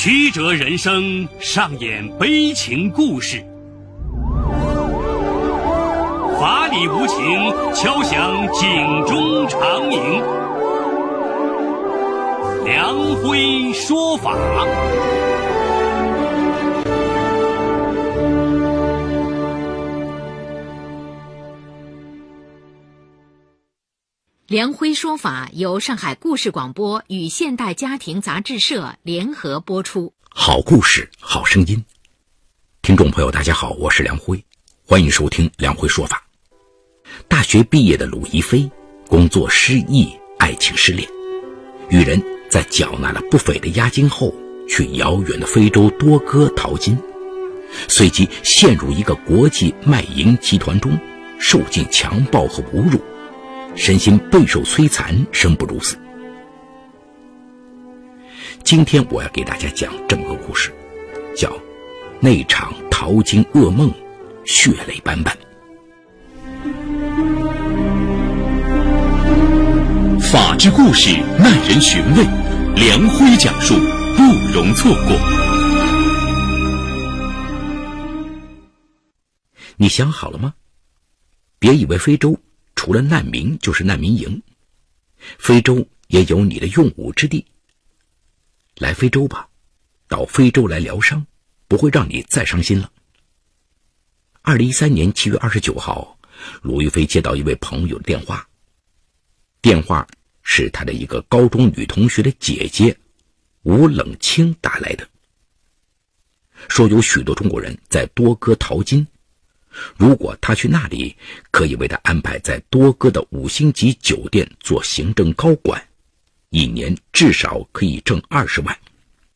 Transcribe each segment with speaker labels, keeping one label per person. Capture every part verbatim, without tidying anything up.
Speaker 1: 曲折人生上演悲情故事，法理无情敲响警钟长鸣。梁辉说法。
Speaker 2: 梁辉说法由上海故事广播与现代家庭杂志社联合播出。
Speaker 3: 好故事，好声音。听众朋友大家好，我是梁辉，欢迎收听梁辉说法。大学毕业的鲁一飞，工作失意，爱情失恋，与人在缴纳了不菲的押金后，去遥远的非洲多哥淘金，随即陷入一个国际卖淫集团中，受尽强暴和侮辱，身心备受摧残，生不如死。今天我要给大家讲这么个故事，叫那场淘金噩梦，血泪斑斑。
Speaker 4: 法治故事耐人寻味，梁辉讲述，不容错过。
Speaker 3: 你想好了吗？别以为非洲除了难民就是难民营，非洲也有你的用武之地。来非洲吧，到非洲来疗伤，不会让你再伤心了。二零一三年七月二十九号，鲁一飞接到一位朋友的电话，电话是他的一个高中女同学的姐姐吴冷清打来的，说有许多中国人在多哥淘金，如果他去那里，可以为他安排在多哥的五星级酒店做行政高管，一年至少可以挣二十万。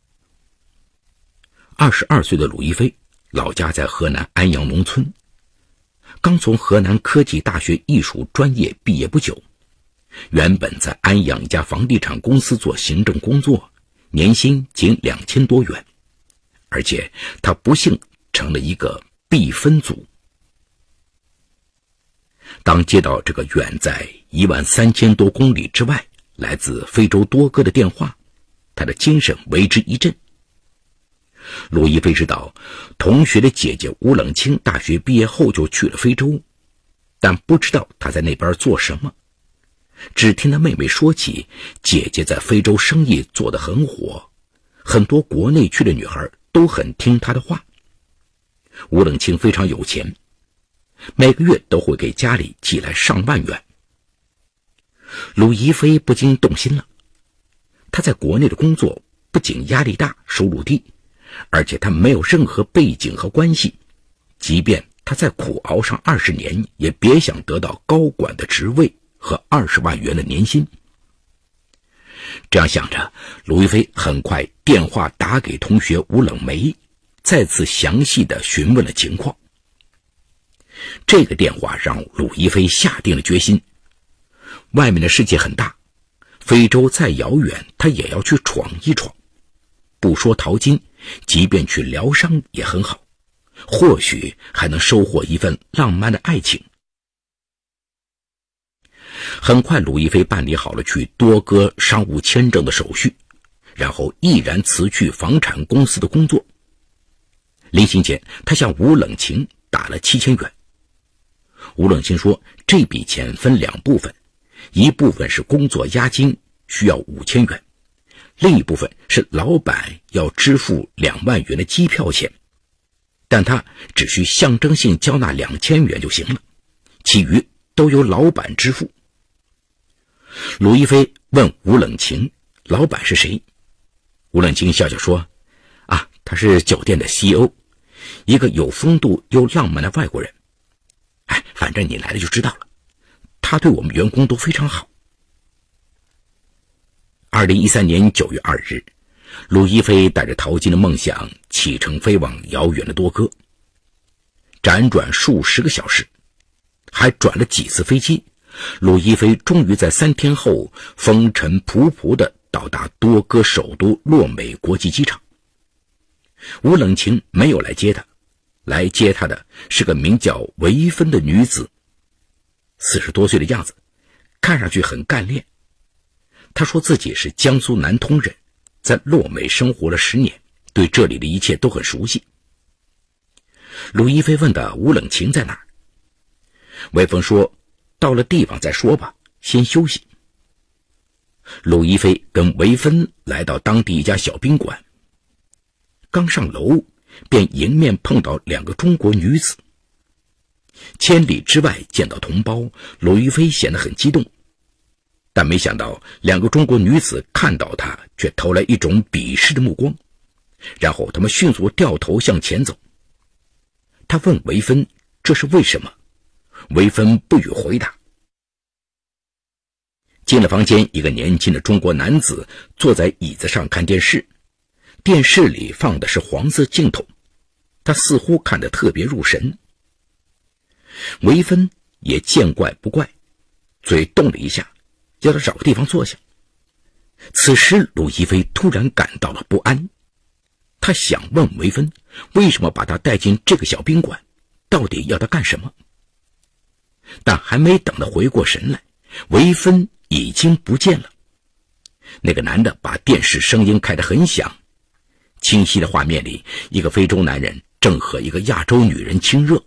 Speaker 3: 二十二岁的鲁一飞，老家在河南安阳农村，刚从河南科技大学艺术专业毕业不久，原本在安阳一家房地产公司做行政工作，年薪仅两千多元，而且他不幸成了一个必分组。当接到这个远在一万三千多公里之外，来自非洲多哥的电话，他的精神为之一振。鲁一飞知道同学的姐姐吴冷清大学毕业后就去了非洲，但不知道她在那边做什么，只听她妹妹说起姐姐在非洲生意做得很火，很多国内去的女孩都很听她的话。吴冷清非常有钱，每个月都会给家里寄来上万元。鲁一飞不禁动心了，他在国内的工作不仅压力大，收入低，而且他没有任何背景和关系，即便他再苦熬上二十年，也别想得到高管的职位和二十万元的年薪。这样想着，鲁一飞很快电话打给同学吴冷梅，再次详细地询问了情况。这个电话让鲁一飞下定了决心，外面的世界很大，非洲再遥远，他也要去闯一闯。不说淘金，即便去疗伤也很好，或许还能收获一份浪漫的爱情。很快鲁一飞办理好了去多哥商务签证的手续，然后毅然辞去房产公司的工作。临行前，他向吴冷清打了七千元。吴冷清说，这笔钱分两部分，一部分是工作押金，需要五千元，另一部分是老板要支付两万元的机票钱，但他只需象征性交纳两千元就行了，其余都由老板支付。鲁一飞问吴冷清，老板是谁？吴冷清笑笑说，啊，他是酒店的 C E O， 一个有风度又浪漫的外国人。哎，反正你来了就知道了，他对我们员工都非常好。二零一三年九月二日，鲁一飞带着淘金的梦想启程飞往遥远的多哥，辗转数十个小时，还转了几次飞机，鲁一飞终于在三天后风尘仆仆地到达多哥首都洛美国际机场。吴冷清没有来接他，来接他的是个名叫维芬的女子，四十多岁的样子，看上去很干练。她说自己是江苏南通人，在洛美生活了十年， 对这里的一切都很熟悉。鲁一飞问的吴冷琴在哪儿？魏峰说，到了地方再说吧，先休息。鲁一飞跟韦芬来到当地一家小宾馆，刚上楼便迎面碰到两个中国女子。千里之外见到同胞，鲁一飞显得很激动，但没想到两个中国女子看到他却投来一种鄙视的目光，然后他们迅速掉头向前走。他问韦芬这是为什么，韦芬不予回答。进了房间，一个年轻的中国男子坐在椅子上看电视，电视里放的是黄色镜头，他似乎看得特别入神。韦芬也见怪不怪，嘴动了一下，要他找个地方坐下。此时鲁一飞突然感到了不安，他想问韦芬为什么把他带进这个小宾馆，到底要他干什么。但还没等他回过神来，韦芬已经不见了。那个男的把电视声音开得很响，清晰的画面里，一个非洲男人正和一个亚洲女人亲热。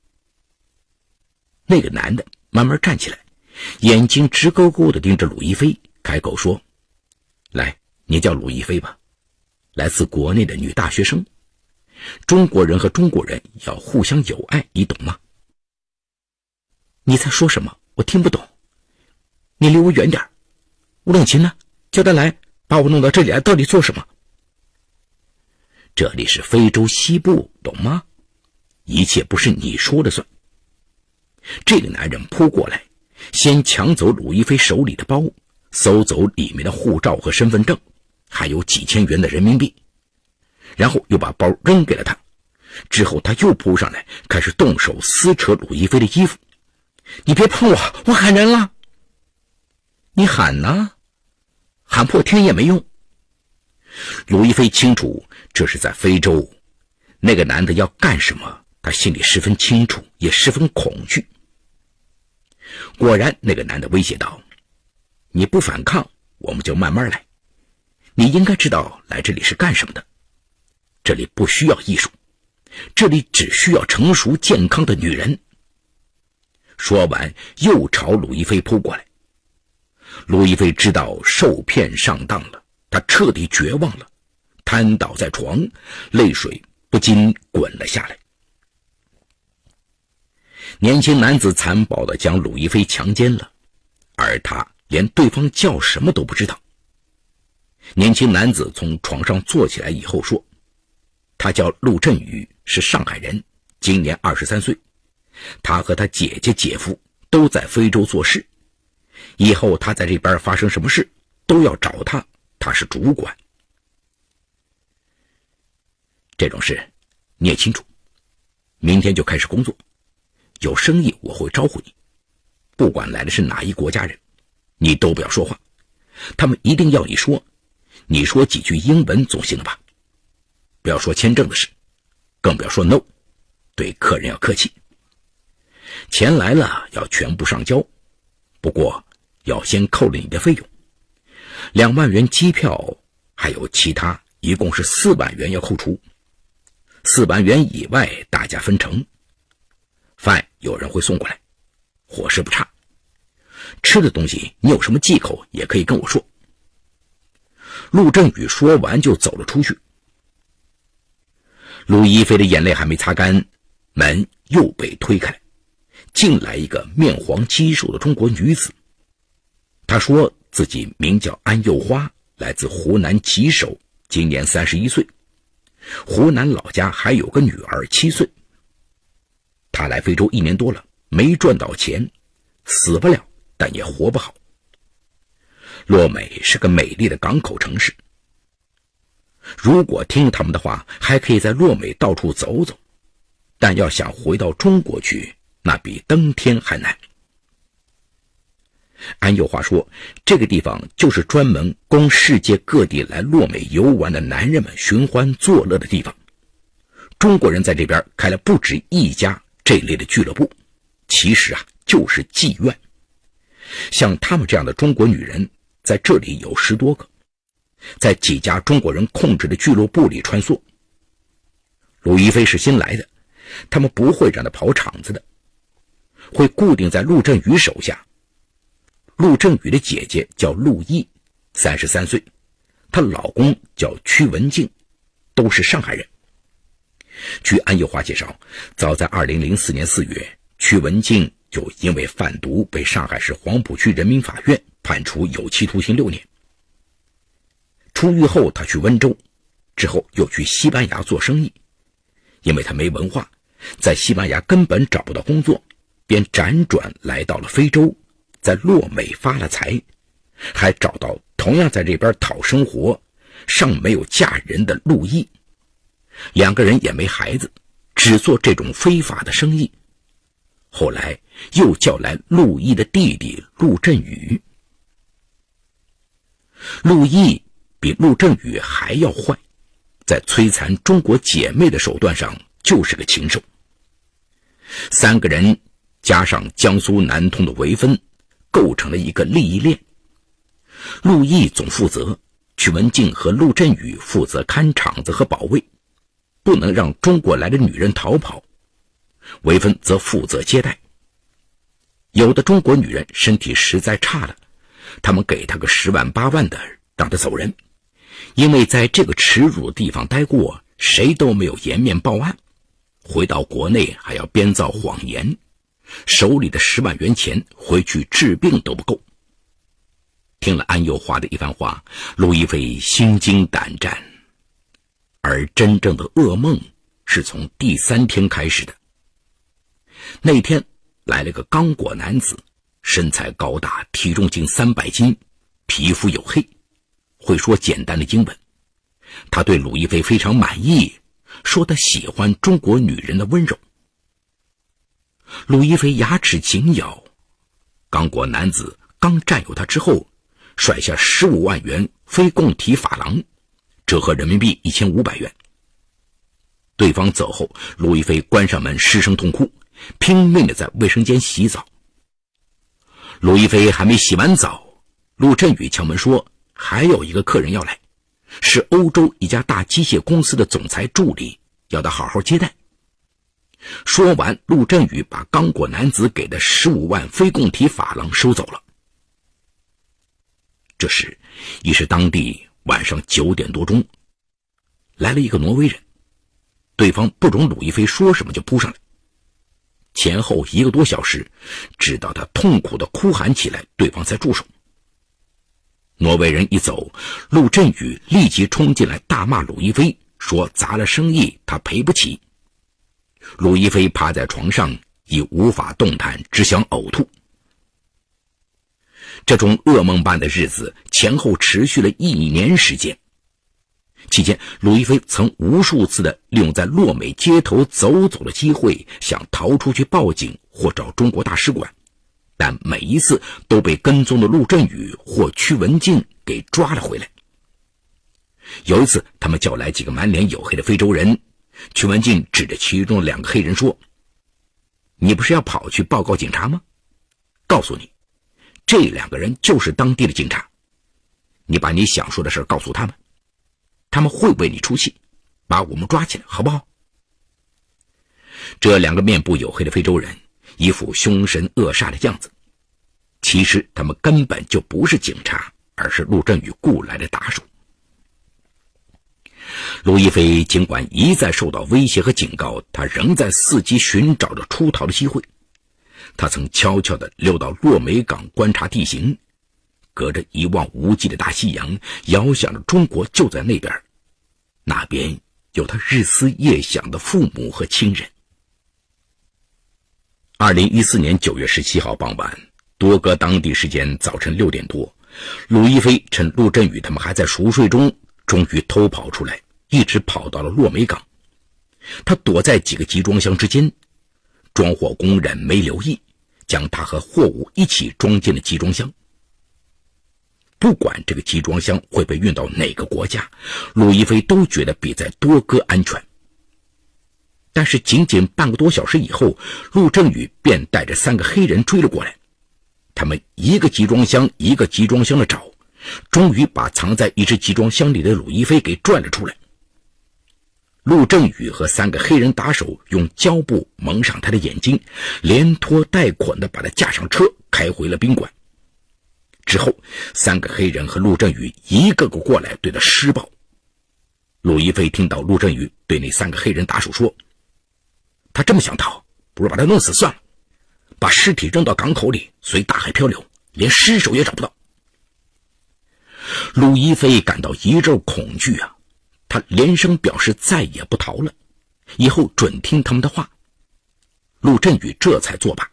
Speaker 3: 那个男的慢慢站起来，眼睛直勾勾地盯着鲁一飞，开口说，来，你叫鲁一飞吧，来自国内的女大学生，中国人和中国人要互相友爱，你懂吗？你在说什么？我听不懂，你离我远点。吴冷琴呢？叫他来，把我弄到这里来到底做什么？这里是非洲西部，懂吗？一切不是你说了算。这个男人扑过来，先抢走鲁一飞手里的包，搜走里面的护照和身份证，还有几千元的人民币，然后又把包扔给了他。之后他又扑上来，开始动手撕扯鲁一飞的衣服。你别碰我，我喊人了。你喊呢？喊破天也没用。鲁一飞清楚这是在非洲，那个男的要干什么，他心里十分清楚，也十分恐惧。果然，那个男的威胁道，你不反抗，我们就慢慢来。你应该知道来这里是干什么的。这里不需要艺术，这里只需要成熟健康的女人。说完又朝鲁一飞扑过来。鲁一飞知道受骗上当了，他彻底绝望了，瘫倒在床，泪水不禁滚了下来。年轻男子残暴地将鲁一飞强奸了，而他连对方叫什么都不知道。年轻男子从床上坐起来以后说，他叫陆振宇，是上海人，今年二十三岁，他和他姐姐姐夫都在非洲做事，以后他在这边发生什么事都要找他，他是主管。这种事你也清楚，明天就开始工作，有生意我会招呼你，不管来的是哪一国家人，你都不要说话，他们一定要你说，你说几句英文总行了吧？不要说签证的事，更不要说 no， 对客人要客气。钱来了要全部上交，不过要先扣了你的费用，两万元机票还有其他一共是四万元要扣除，四万元以外大家分成。饭有人会送过来，伙食不差，吃的东西你有什么忌口也可以跟我说。陆振宇说完就走了出去。陆一飞的眼泪还没擦干，门又被推开来，进来一个面黄肌瘦的中国女子。她说自己名叫安幼花，来自湖南吉首，今年三十一岁，湖南老家还有个女儿七岁。她来非洲一年多了，没赚到钱，死不了，但也活不好。洛美是个美丽的港口城市，如果听他们的话，还可以在洛美到处走走，但要想回到中国去，那比登天还难。安幼华说，这个地方就是专门供世界各地来洛美游玩的男人们寻欢作乐的地方。中国人在这边开了不止一家这类的俱乐部，其实啊就是妓院。像他们这样的中国女人在这里有十多个， 在几家中国人控制的俱乐部里穿梭。陆一飞是新来的，他们不会让他跑场子的，会固定在陆振宇手下。陆振宇的姐姐叫陆毅，三十三岁，她老公叫屈文静，都是上海人。据安幼华介绍，早在二零零四年四月，屈文静就因为贩毒被上海市黄浦区人民法院判处有期徒刑六年。出狱后，他去温州，之后又去西班牙做生意。因为他没文化，在西班牙根本找不到工作，便辗转来到了非洲，在洛美发了财，还找到同样在这边讨生活尚没有嫁人的陆毅。两个人也没孩子，只做这种非法的生意。后来又叫来陆毅的弟弟陆振宇。陆毅比陆振宇还要坏，在摧残中国姐妹的手段上就是个禽兽。三个人加上江苏南通的韦芬，构成了一个利益链。陆毅总负责，屈文静和陆振宇负责看场子和保卫，不能让中国来的女人逃跑。韦芬则负责接待。有的中国女人身体实在差了，他们给她个十万八万的让她走人，因为在这个耻辱的地方待过，谁都没有颜面报案，回到国内还要编造谎言，手里的十万元钱回去治病都不够。听了安幼华的一番话，陆一飞心惊胆战，而真正的噩梦是从第三天开始的。那天来了个刚果男子，身材高大，体重近三百斤，皮肤黝黑，会说简单的英文。他对陆一飞非常满意，说他喜欢中国女人的温柔。陆一飞牙齿紧咬，刚果男子刚占有他之后，甩下十五万元非共体法郎，折合人民币一千五百元。对方走后，陆一飞关上门失声痛哭，拼命地在卫生间洗澡。陆一飞还没洗完澡，陆振宇敲门说还有一个客人要来，是欧洲一家大机械公司的总裁助理，要他好好接待。说完，陆振宇把刚果男子给的十五万非共体法郎收走了。这时已是当地晚上九点多钟，来了一个挪威人，对方不容鲁一飞说什么就扑上来，前后一个多小时，直到他痛苦地哭喊起来，对方才住手。挪威人一走，陆振宇立即冲进来大骂鲁一飞，说砸了生意他赔不起。鲁一飞趴在床上已无法动弹，只想呕吐。这种噩梦般的日子前后持续了一年时间，期间鲁一飞曾无数次的利用在洛美街头走走的机会，想逃出去报警或找中国大使馆，但每一次都被跟踪的陆振宇或屈文静给抓了回来。有一次他们叫来几个满脸黝黑的非洲人，屈文静指着其中的两个黑人说，你不是要跑去报告警察吗？告诉你，这两个人就是当地的警察，你把你想说的事告诉他们，他们会为你出气，把我们抓起来好不好？这两个面部黝黑的非洲人一副凶神恶煞的样子，其实他们根本就不是警察，而是陆振宇雇来的打手。陆一飞尽管一再受到威胁和警告，他仍在伺机寻找着出逃的机会。他曾悄悄地溜到洛美港观察地形，隔着一望无际的大西洋，遥想着中国就在那边，那边有他日思夜想的父母和亲人。二零一四年九月十七号傍晚，多哥当地时间早晨六点多，鲁一飞趁陆振宇他们还在熟睡中，终于偷跑出来，一直跑到了洛美港。他躲在几个集装箱之间，装货工人没留意，将他和货物一起装进了集装箱。不管这个集装箱会被运到哪个国家，鲁一飞都觉得比在多哥安全。但是仅仅半个多小时以后，陆振宇便带着三个黑人追了过来，他们一个集装箱一个集装箱的找， 终于把藏在一只集装箱里的鲁一飞给拽了出来。陆正宇和三个黑人打手用胶布蒙上他的眼睛，连拖带捆地把他架上车，开回了宾馆。之后，三个黑人和陆正宇一个个过来对他施暴。鲁一飞听到陆正宇对那三个黑人打手说：“他这么想逃，不如把他弄死算了，把尸体扔到港口里，随大海漂流，连尸首也找不到。”鲁一飞感到一阵恐惧啊，他连声表示再也不逃了，以后准听他们的话。陆振宇这才作罢。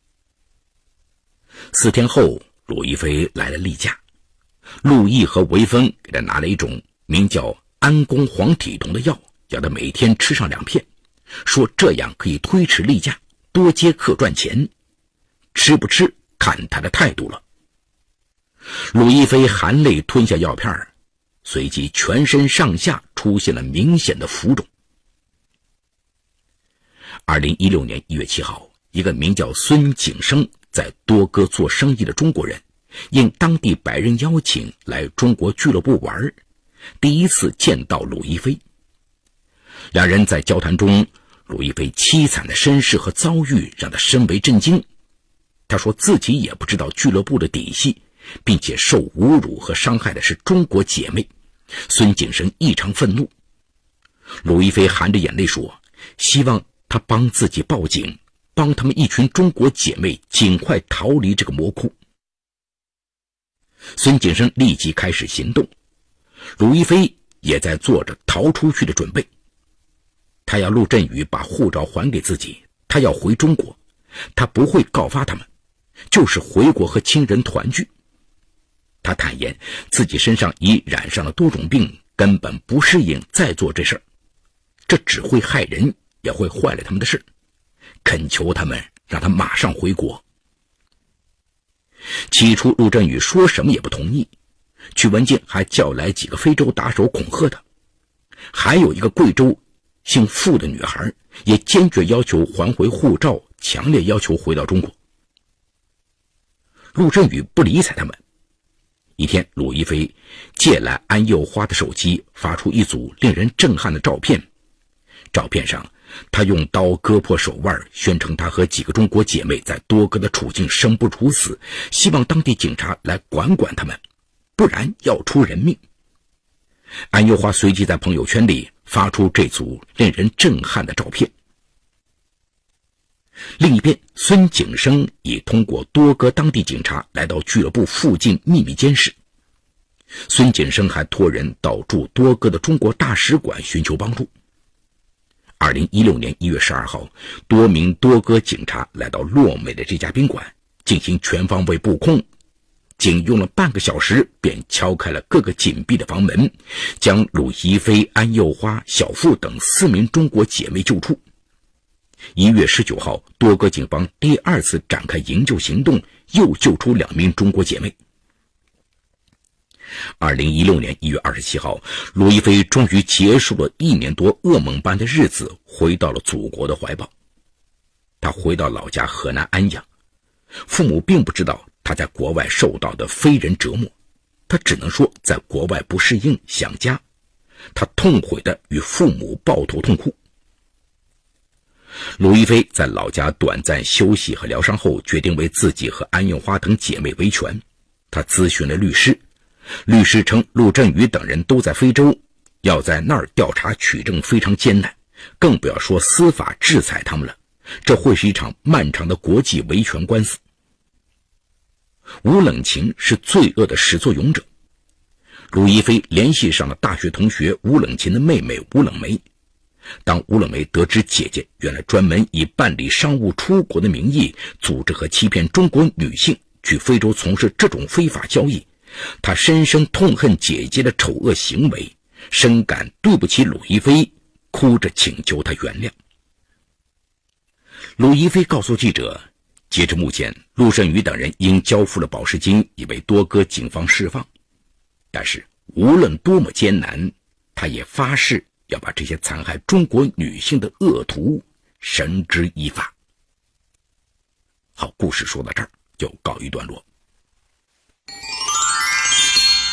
Speaker 3: 四天后，鲁一飞来了例假，陆毅和韦峰给他拿了一种名叫安宫黄体酮的药，要他每天吃上两片，说这样可以推迟例假，多接客赚钱。吃不吃看他的态度了。鲁一飞含泪吞下药片，随即全身上下出现了明显的浮肿。二零一六年一月七号，一个名叫孙景生在多哥做生意的中国人，应当地白人邀请来中国俱乐部玩，第一次见到鲁一飞。两人在交谈中，鲁一飞凄惨的身世和遭遇让他深为震惊。他说自己也不知道俱乐部的底细，并且受侮辱和伤害的是中国姐妹。孙景生异常愤怒。鲁一飞含着眼泪说，希望他帮自己报警，帮他们一群中国姐妹尽快逃离这个魔窟。孙景生立即开始行动，鲁一飞也在做着逃出去的准备。他要陆振宇把护照还给自己，他要回中国，他不会告发他们，就是回国和亲人团聚。他坦言自己身上已染上了多种病，根本不适应再做这事儿，这只会害人，也会坏了他们的事，恳求他们让他马上回国。起初陆振宇说什么也不同意，曲文静还叫来几个非洲打手恐吓他，还有一个贵州姓傅的女孩也坚决要求还回护照，强烈要求回到中国。陆振宇不理睬他们。一天，鲁一飞借来安幼花的手机，发出一组令人震撼的照片。照片上，他用刀割破手腕，宣称他和几个中国姐妹在多哥的处境生不如死，希望当地警察来管管他们，不然要出人命。安幼花随即在朋友圈里发出这组令人震撼的照片。另一边，孙景生已通过多哥当地警察来到俱乐部附近秘密监视。孙景生还托人到驻多哥的中国大使馆寻求帮助。二零一六年一月十二号，多名多哥警察来到洛美的这家宾馆进行全方位布控，仅用了半个小时便敲开了各个紧闭的房门，将鲁一飞、安幼花、小付等四名中国姐妹救出。一月十九号，多哥警方第二次展开营救行动，又救出两名中国姐妹。二零一六年一月二十七号，鲁一飞终于结束了一年多噩梦般的日子，回到了祖国的怀抱。他回到老家河南安阳，父母并不知道他在国外受到的非人折磨，他只能说在国外不适应，想家。他痛悔地与父母抱头痛哭。鲁一飞在老家短暂休息和疗伤后，决定为自己和安幼花等姐妹维权。他咨询了律师，律师称陆振宇等人都在非洲，要在那儿调查取证非常艰难，更不要说司法制裁他们了，这会是一场漫长的国际维权官司。吴冷琴是罪恶的始作俑者。鲁一飞联系上了大学同学吴冷琴的妹妹吴冷梅。当吴冷梅得知姐姐原来专门以办理商务出国的名义，组织和欺骗中国女性去非洲从事这种非法交易，她深深痛恨姐姐的丑恶行为，深感对不起鲁一飞，哭着请求他原谅。鲁一飞告诉记者，截至目前，陆振宇等人因交付了保释金，已被多哥警方释放。但是无论多么艰难，他也发誓要把这些残害中国女性的恶徒绳之以法。好，故事说到这儿就告一段落。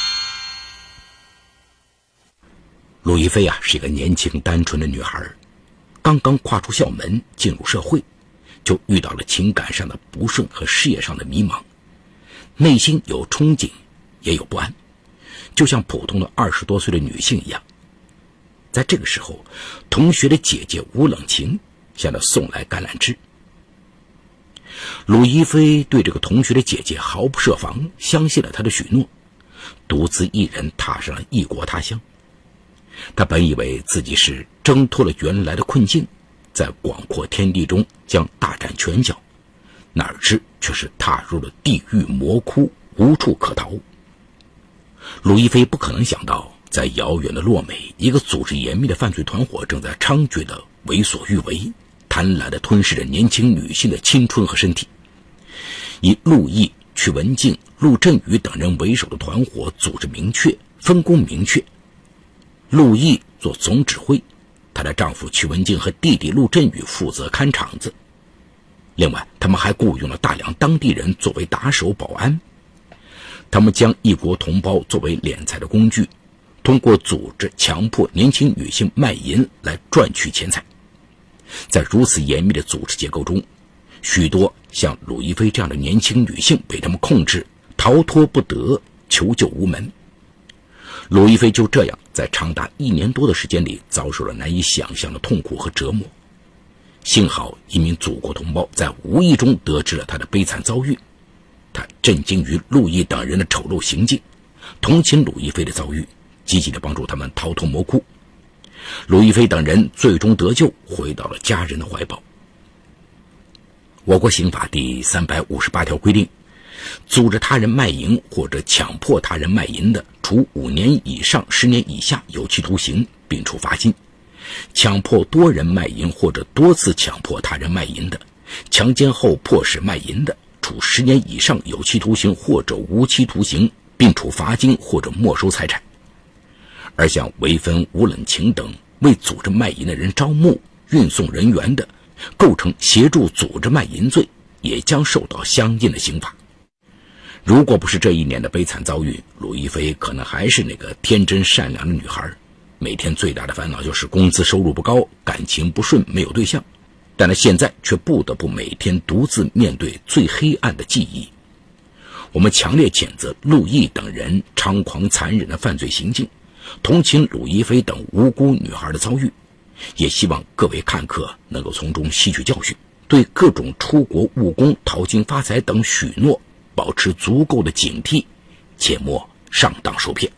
Speaker 3: 陆亦菲啊，是一个年轻单纯的女孩，刚刚跨出校门进入社会，就遇到了情感上的不顺和事业上的迷茫，内心有憧憬，也有不安，就像普通的二十多岁的女性一样。在这个时候，同学的姐姐吴冷晴向她送来橄榄枝。陆亦菲对这个同学的姐姐毫不设防，相信了她的许诺，独自一人踏上了异国他乡。她本以为自己是挣脱了原来的困境，在广阔天地中将大展拳脚，哪知却是踏入了地狱魔窟，无处可逃。陆亦菲不可能想到，在遥远的洛美，一个组织严密的犯罪团伙正在猖獗的为所欲为，贪婪地吞噬着年轻女性的青春和身体。以陆毅、曲文静、陆振宇等人为首的团伙组织明确，分工明确。陆毅做总指挥，她的丈夫曲文静和弟弟陆振宇负责看场子。另外，他们还雇佣了大量当地人作为打手保安。他们将异国同胞作为敛财的工具，通过组织强迫年轻女性卖淫来赚取钱财。在如此严密的组织结构中，许多像陆亦菲这样的年轻女性被他们控制，逃脱不得，求救无门。陆亦菲就这样在长达一年多的时间里遭受了难以想象的痛苦和折磨。幸好一名祖国同胞在无意中得知了她的悲惨遭遇，他震惊于陆毅等人的丑陋行径，同情陆亦菲的遭遇，积极地帮助他们逃脱魔窟。陆亦菲等人最终得救，回到了家人的怀抱。我国刑法第三百五十八条规定，组织他人卖淫或者强迫他人卖淫的，处五年以上十年以下有期徒刑，并处罚金；强迫多人卖淫或者多次强迫他人卖淫的，强奸后迫使卖淫的，处十年以上有期徒刑或者无期徒刑，并处罚金或者没收财产。而像韦芬、吴冷晴等为组织卖淫的人招募、运送人员的，构成协助组织卖淫罪，也将受到相应的刑罚。如果不是这一年的悲惨遭遇，陆亦菲可能还是那个天真善良的女孩，每天最大的烦恼就是工资收入不高，感情不顺，没有对象。但她现在却不得不每天独自面对最黑暗的记忆。我们强烈谴责陆毅等人猖狂残忍的犯罪行径，同情陆亦菲等无辜女孩的遭遇，也希望各位看客能够从中吸取教训，对各种出国务工、淘金发财等许诺保持足够的警惕，切莫上当受骗。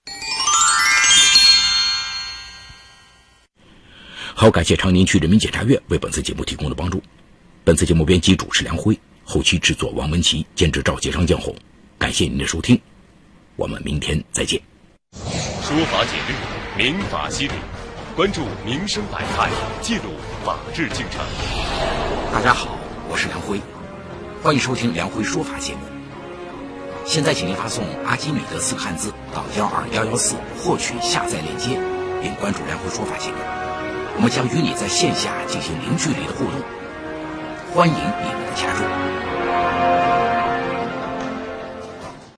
Speaker 3: 好，感谢长宁区人民检察院为本次节目提供的帮助。本次节目编辑主持梁辉，后期制作王文琪，监制赵杰、张江红。感谢您的收听，我们明天再见。
Speaker 4: 说法解律，民法析理，关注民生百态，记录法治进程。
Speaker 3: 大家好，我是梁辉，欢迎收听梁辉说法节目。现在请您发送阿基米德四个汉字到幺二幺幺四获取下载链接，并关注梁辉说法节目。我们将与你在线下进行零距离的互动，欢迎你们的加入。